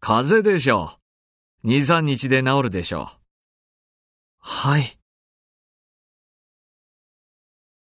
風邪でしょう。2、3日で治るでしょう。 はい。